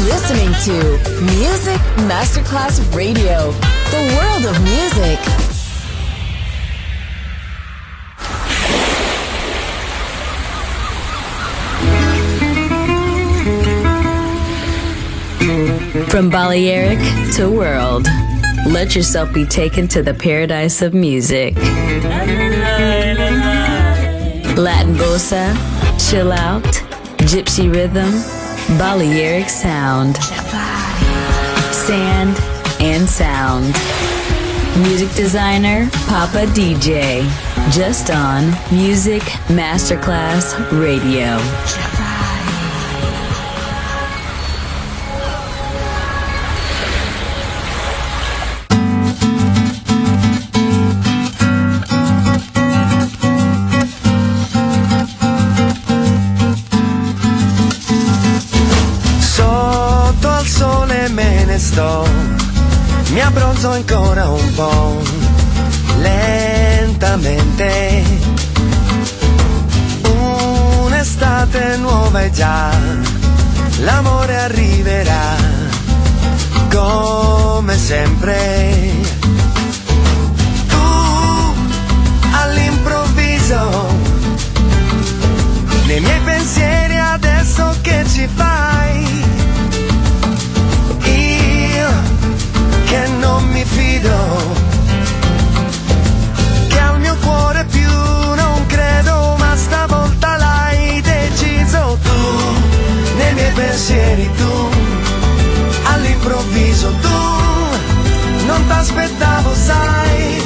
listening to Music Masterclass Radio, the world of music. From Balearic to world, let yourself be taken to the paradise of music. Latin bossa, chill out, gypsy rhythm, Balearic sound, sand and sound. Music designer, Papa DJ, just on Music Masterclass Radio. Mi abbronzo ancora un po', lentamente. Un'estate nuova e già l'amore arriverà, come sempre. Tu all'improvviso, nei miei pensieri adesso che ci fai? Che non mi fido, che al mio cuore più non credo, ma stavolta l'hai deciso tu, nei miei pensieri tu, all'improvviso tu, non t'aspettavo sai,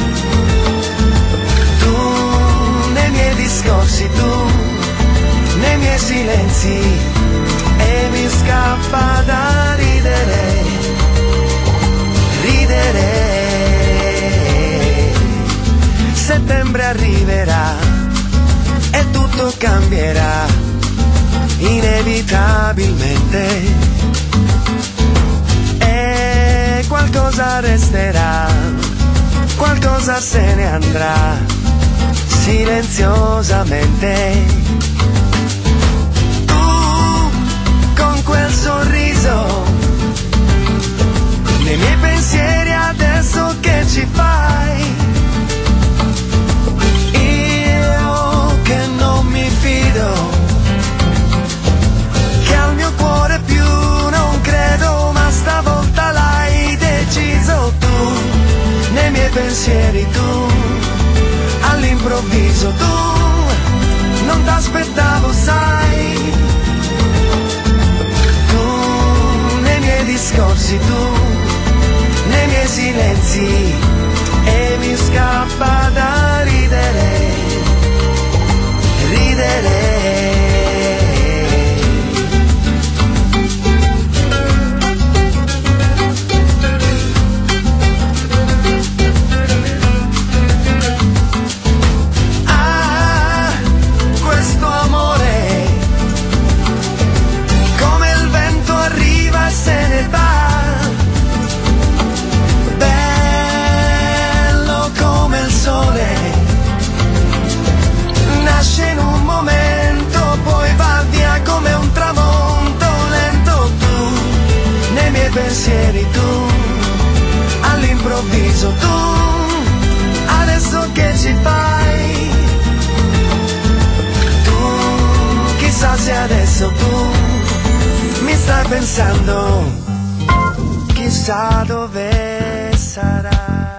tu, nei miei discorsi tu, nei miei silenzi, e mi scappa da ridere. Settembre arriverà e tutto cambierà inevitabilmente, e qualcosa resterà, qualcosa se ne andrà silenziosamente. Tu con quel sorriso, nei miei pensieri adesso che ci fai? Io che non mi fido, che al mio cuore più non credo, ma stavolta l'hai deciso tu, nei miei pensieri tu, all'improvviso tu, non t'aspettavo sai, tu, nei miei discorsi tu, nei miei silenzi, e mi scappa da ridere, ridere. Ah, questo amore, come il vento arriva e se ne va. Nasce in un momento, poi va via come un tramonto lento tu, nei miei pensieri tu, all'improvviso tu, adesso che ci fai? Tu, chissà se adesso tu mi stai pensando, chissà dove sarà.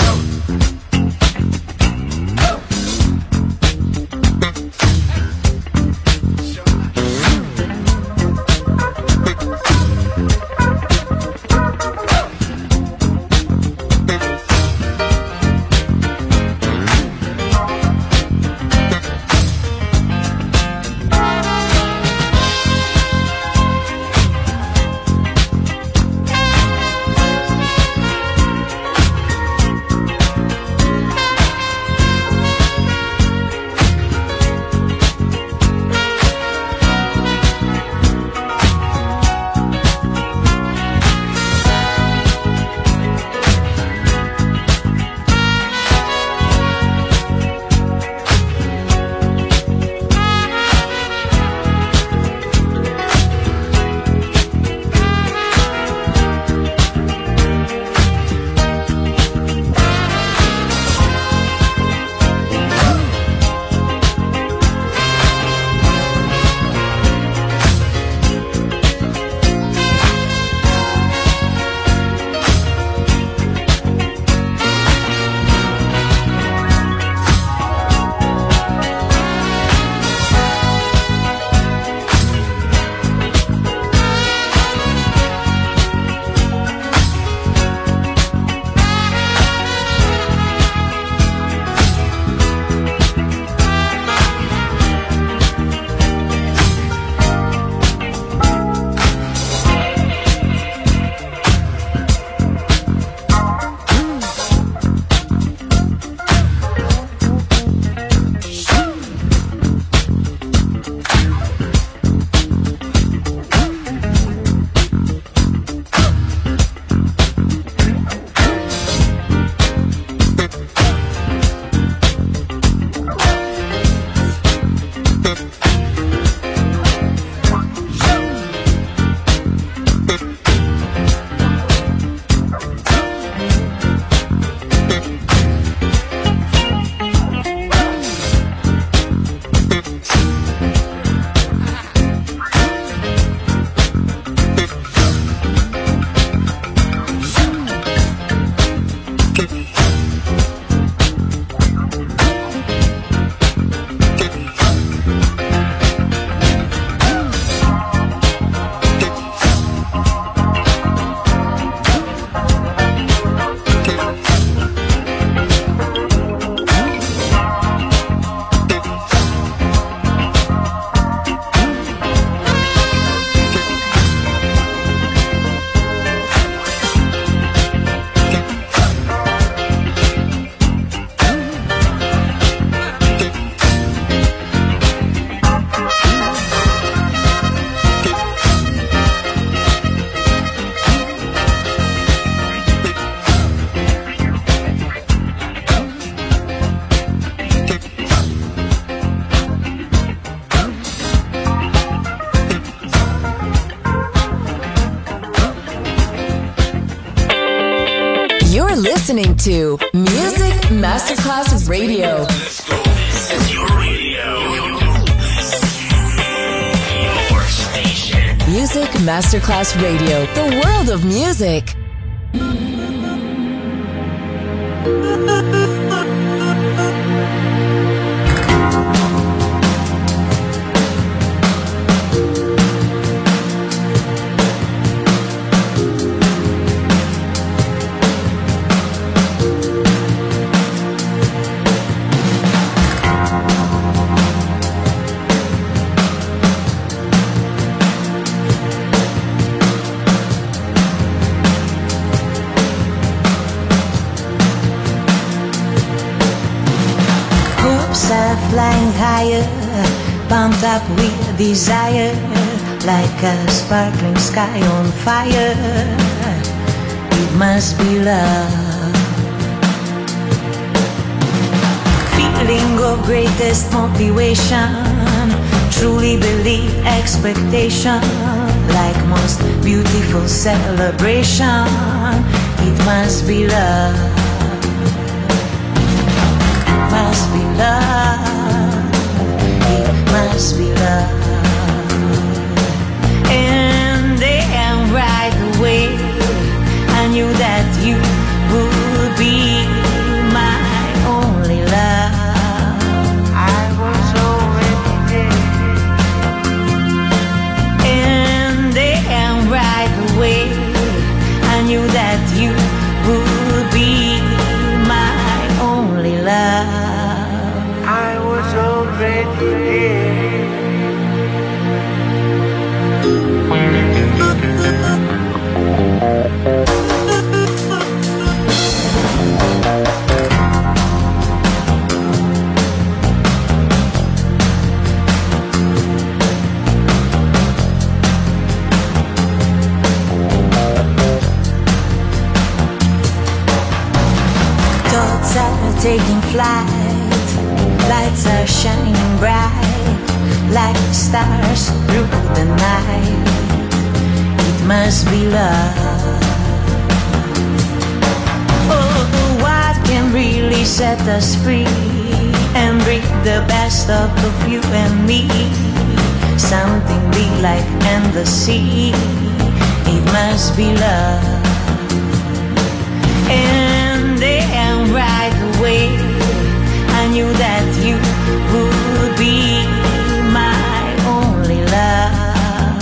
listening to Music Masterclass Radio. This is your radio. Your station. Music Masterclass Radio. The world of music. Flying higher, pumped up with desire, like a sparkling sky on fire. It must be love. Feeling of greatest motivation, truly believe expectation, like most beautiful celebration. It must be love. Must be love, it must be love. And then right away I knew that you would be thoughts are taking flight. Lights are shining bright like stars through the night. It must be love. Oh, what can really set us free and bring the best of you and me? Something big like and the sea. It must be love. And then right away I knew that you would be my only love.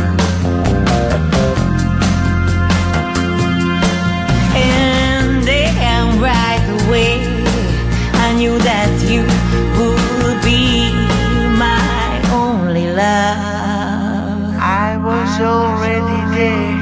And then right away I knew that you would be my only love. I was already there.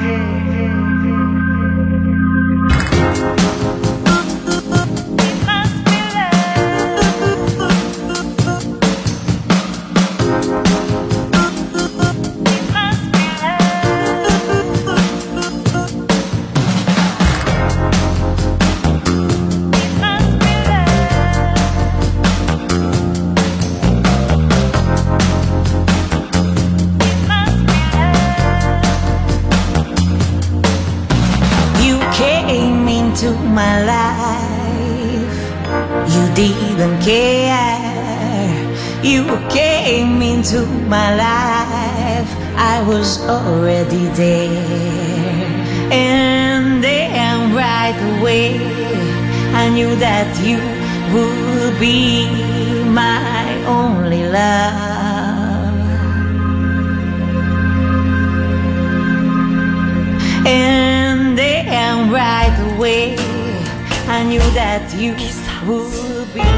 To my life, you didn't care. You came into my life, I was already there. And then right away I knew that you would be my only love. And then right away I knew that you would be.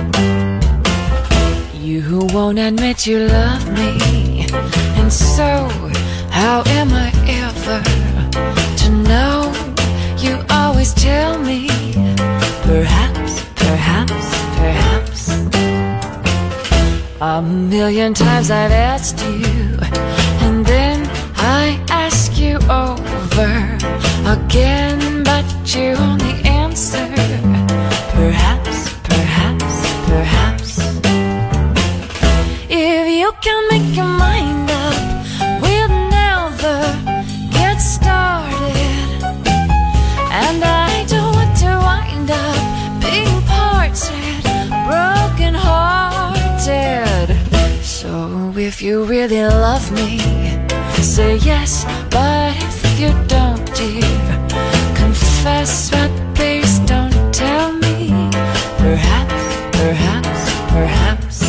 You won't admit you love me, and so how am I ever to know? You always tell me, perhaps, perhaps, perhaps. A million times I've asked you, and then I ask you over again, but you only answer, perhaps, perhaps, perhaps. If you can make your mind up, we'll never get started. And I don't want to wind up being parted, broken hearted. So if you really love me, say yes, but if you don't, dear, confess, but please don't tell me, perhaps, perhaps, perhaps.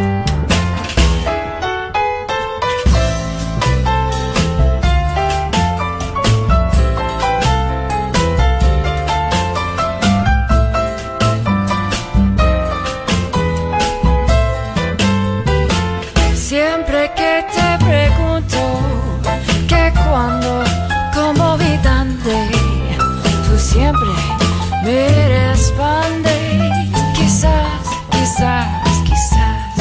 Siempre que te pregunto que cuando, cómo vi dónde, tú siempre me respondes, quizás, quizás, quizás.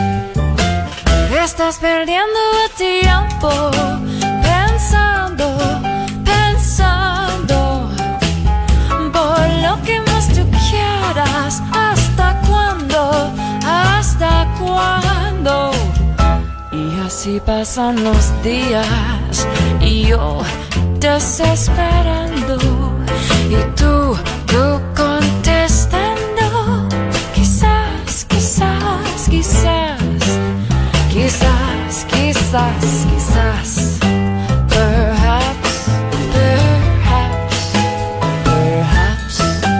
Estás perdiendo el tiempo pensando, pensando por lo que más tú quieras. ¿Hasta cuándo? ¿Hasta cuándo? Y así pasan los días y yo desesperando y tú contestando, quizás, quizás, quizás, quizás, quizás, quizás, perhaps, perhaps, perhaps.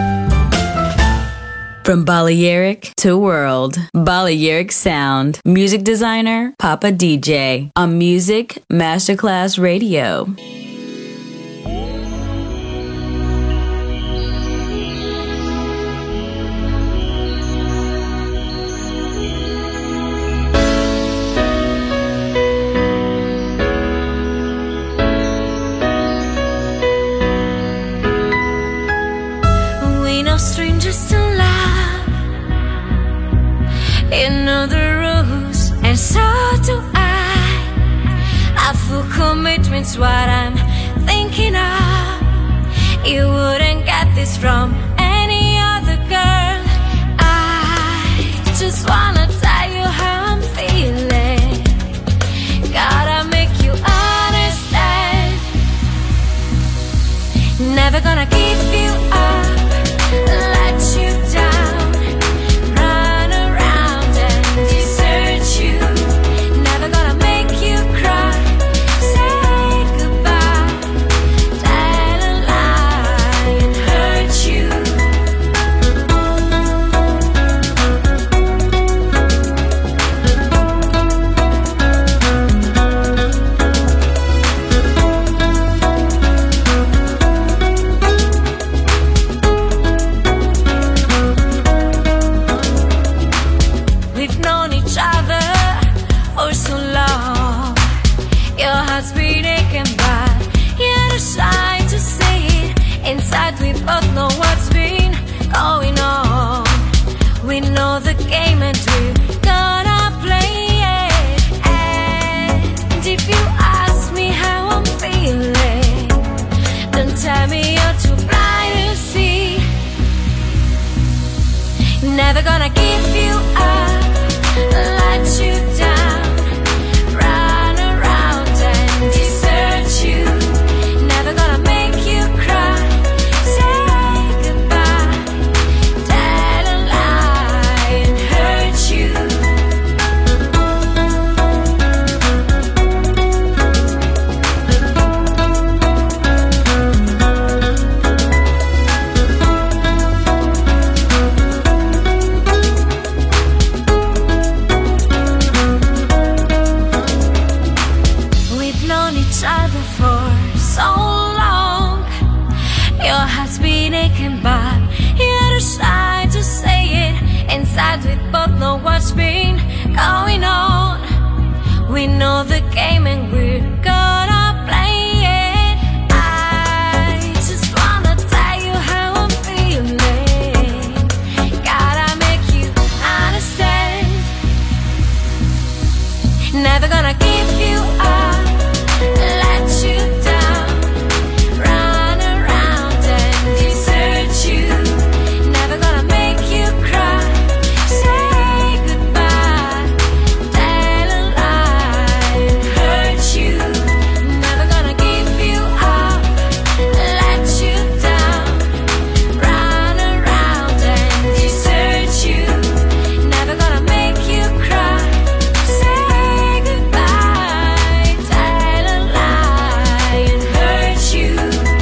From Balearic to World, Balearic Sound, music designer, Papa DJ, on Music Masterclass Radio. We know strangers to love, in other rules, and so do I. A full commitment's what I'm thinking of. You wouldn't get this from any other Never gonna give you up, let you down, run around and desert you. Never gonna make you cry, say goodbye, tell a lie and hurt you. We both know what's been going on. We know the game and we're gonna play it. I just wanna tell you how I'm feeling. Gotta make you understand. Never gonna give you up, let you down, run around and desert you. Never gonna make you cry, say goodbye, tell a lie and hurt you. Never gonna give you up, let you down, run around and desert you. Never gonna make you cry, say goodbye, tell a lie and hurt you.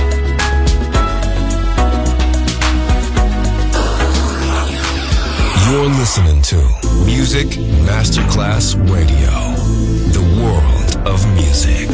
You're listening to Music Masterclass Radio, the world of music.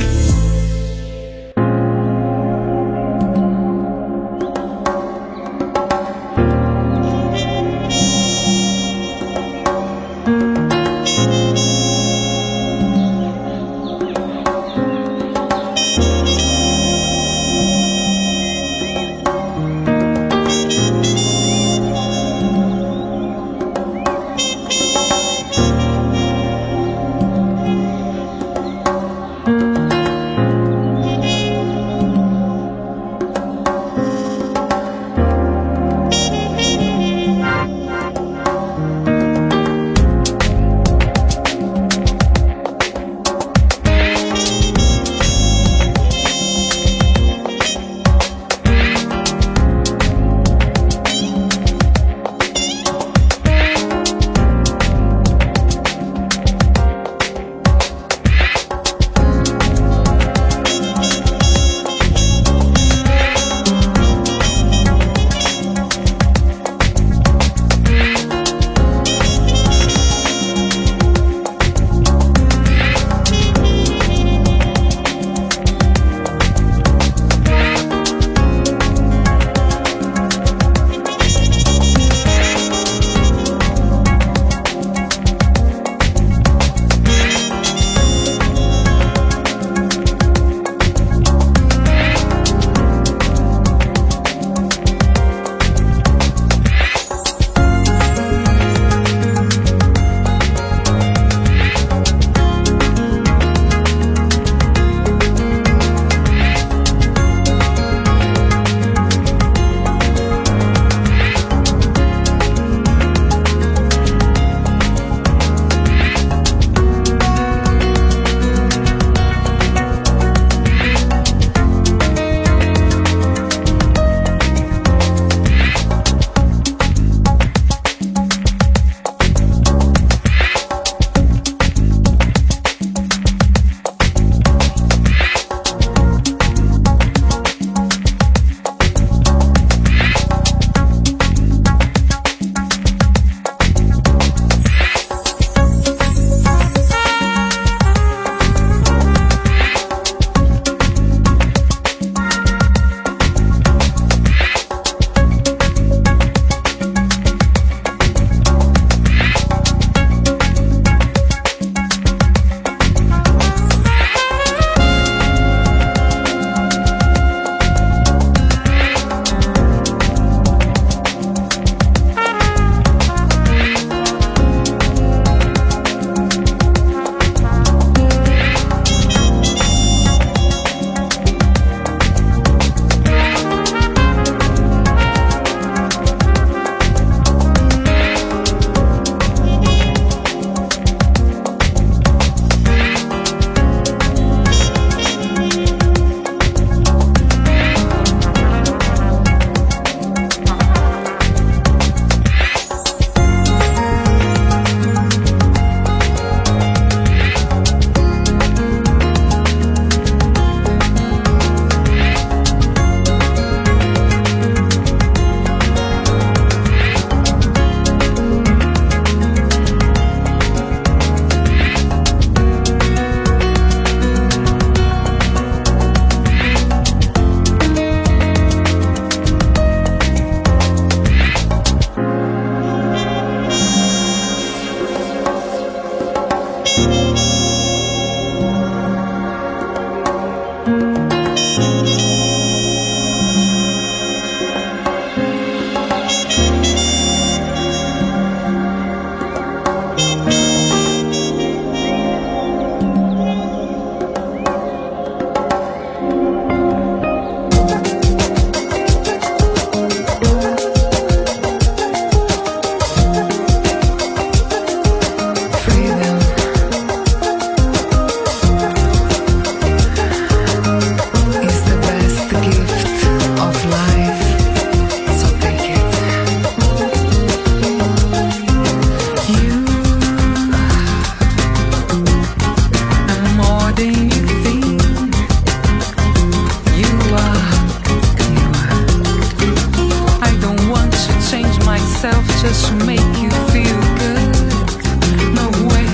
myself just to make you feel good. No way.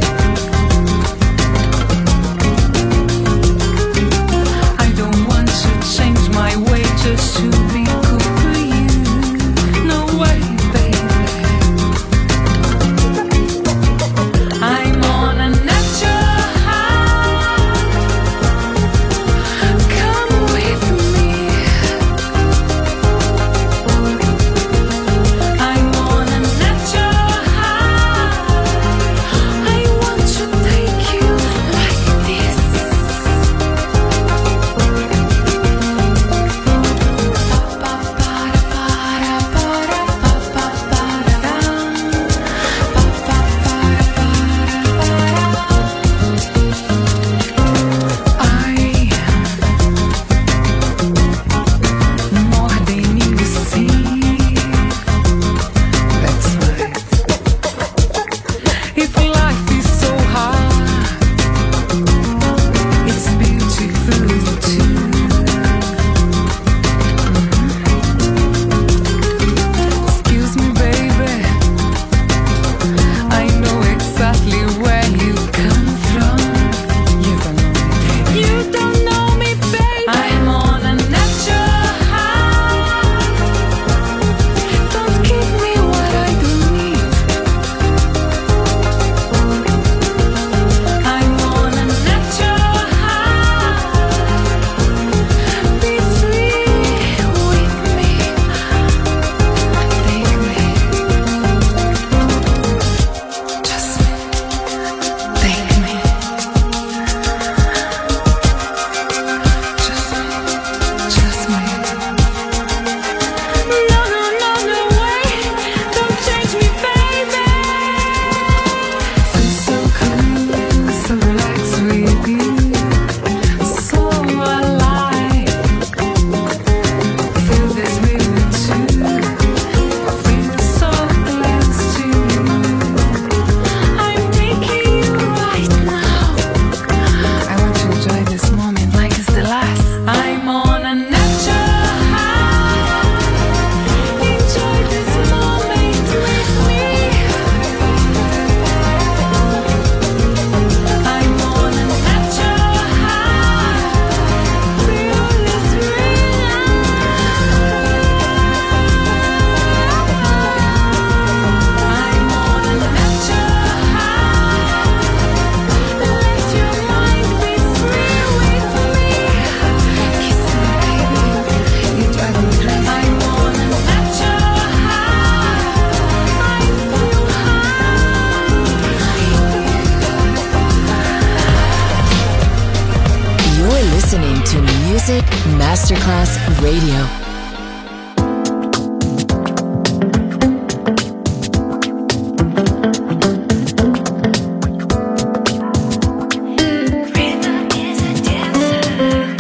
I don't want to change my way just to be good for you. No way, baby. I'm on a natural high. Come with me. I'm on a natural high. I want to take you like this. More than you see. That's right. If life is so hard, it's beautiful too. Excuse me, baby. I know exactly where you come from. You don't know me, baby. You don't know me, baby. I'm on a natural high. Don't give me what I don't need. I'm on a natural high. Be free with me. Take me. Just take me. Just me. No, no, no, no way. Don't change me, baby. Feel so cool, so relaxed with you. So alive. Feel this rhythm too. Feel so close to you. I'm taking you right now. I want to enjoy this moment like it's the last. I'm on a natural high. Enjoy this moment with me. I'm on a natural high. Feel this rhythm. I'm on a natural high. Let your mind be free with me. Kiss me, baby. You drive me crazy. I'm on a natural high. I feel high. You're listening to Music Masterclass Radio. Rhythm is a dancer.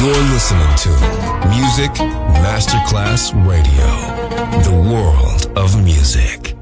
You're listening to Music Masterclass Radio, the world of music.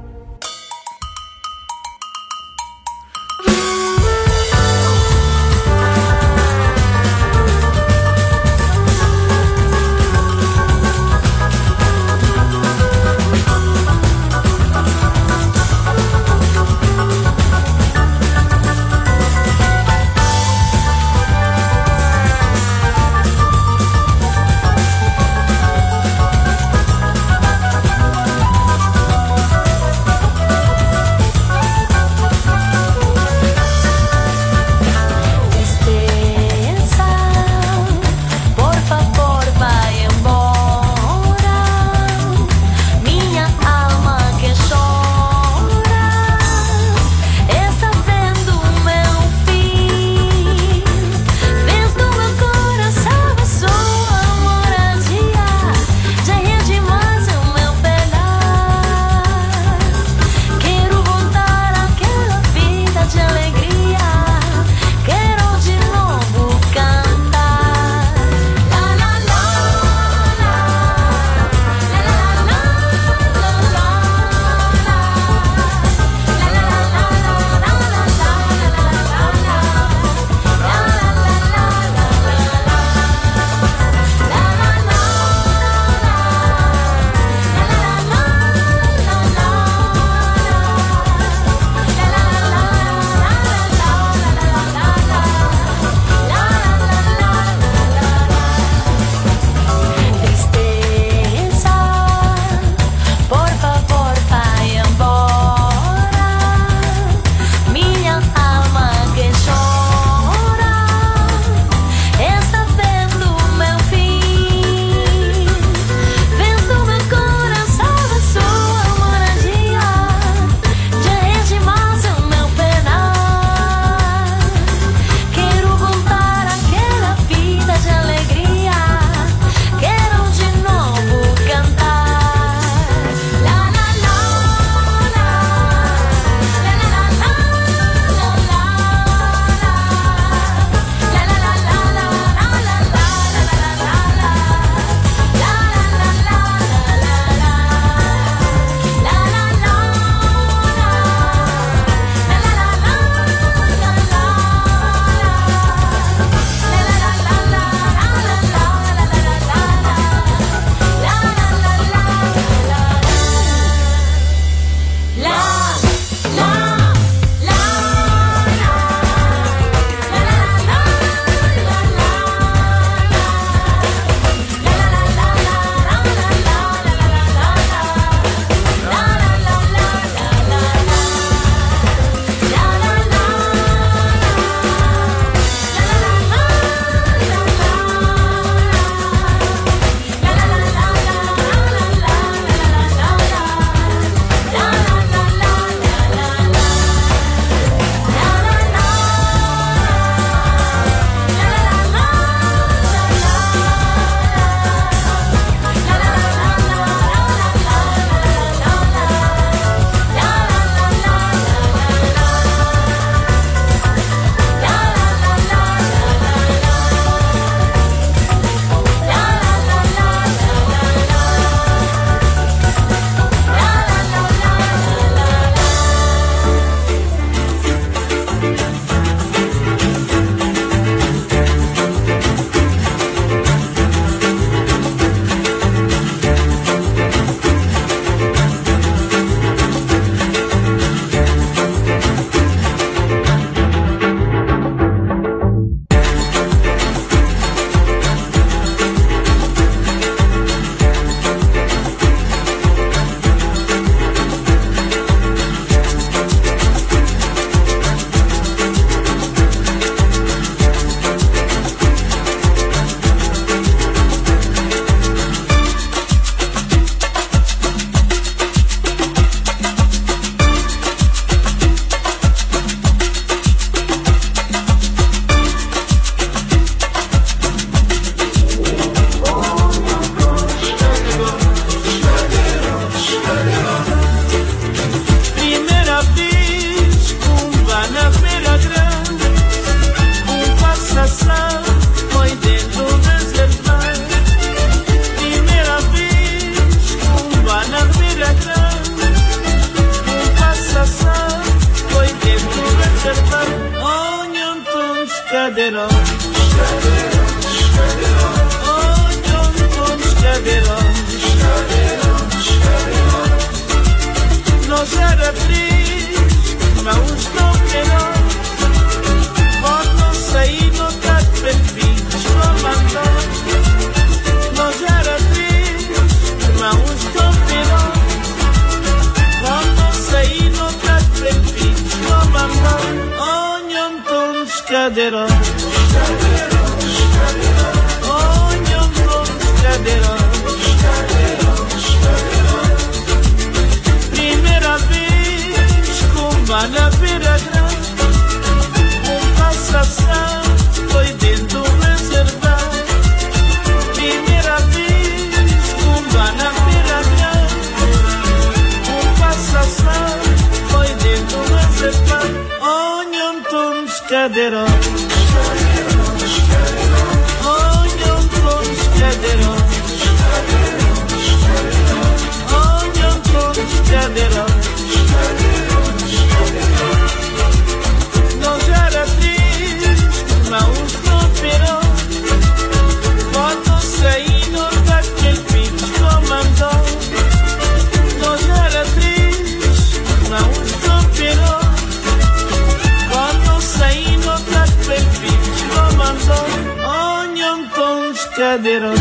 scaderò.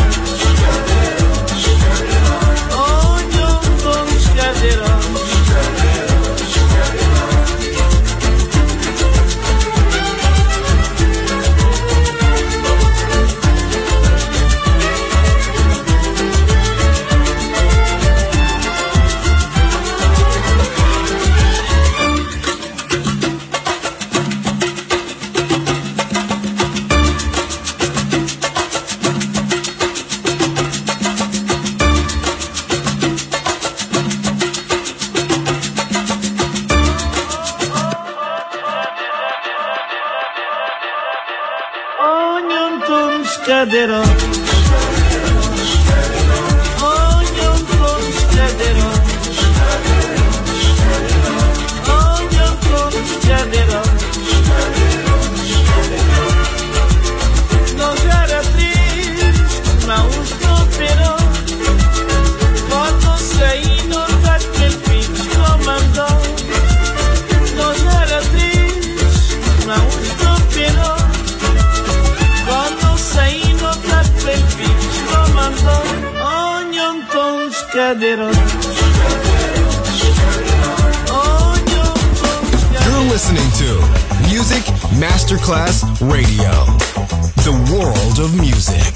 Ogni autunno scaderò. Scaderò. Ogni autunno scaderò. Ogni autunno scaderò. Non sarà triste, ma un stupirò. Quando sei nota che il figlio mandò. Non sarà triste, ma un stupirò. Quando sei nota che il figlio mandò. Ogni autunno scaderò. You're listening to Music Masterclass Radio, the world of music.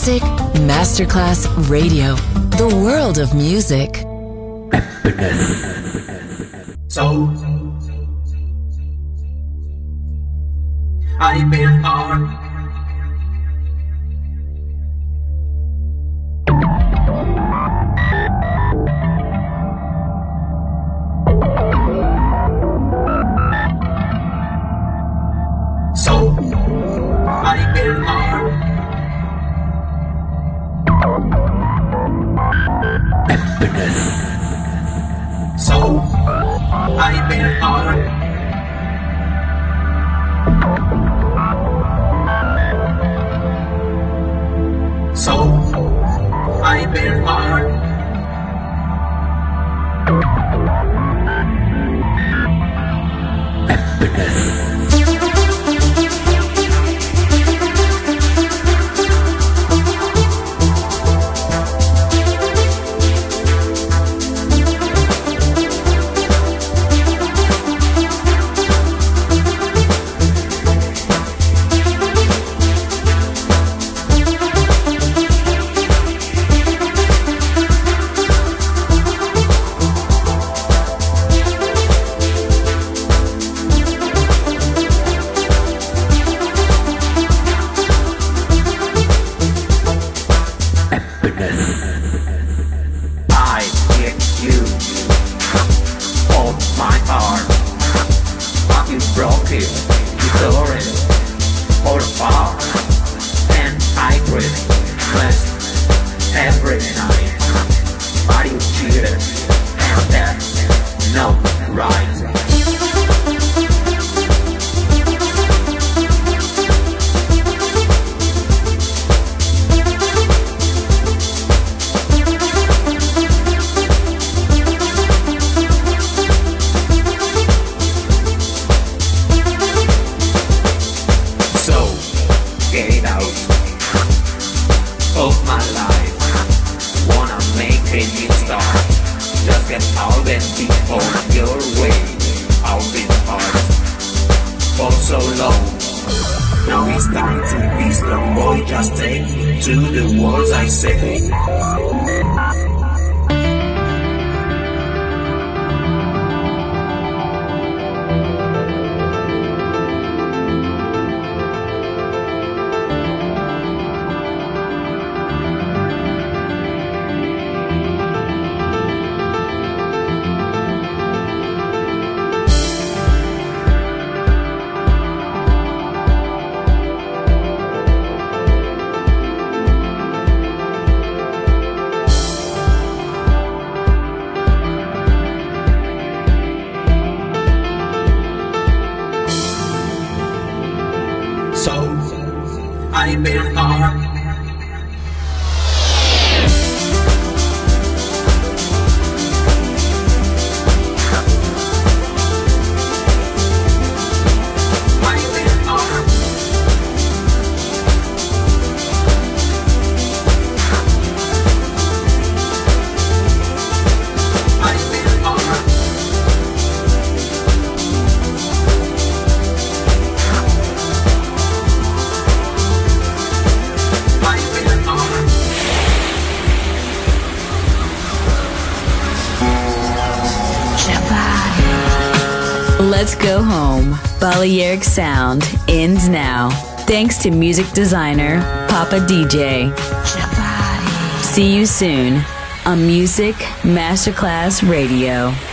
Music Masterclass Radio. The world of music. So I've been on. So I've been on. So I've been on. So I've been on. I've been on. Let's go home. Balearic Sound ends now. Thanks to music designer Papa DJ. See you soon on Music Masterclass Radio.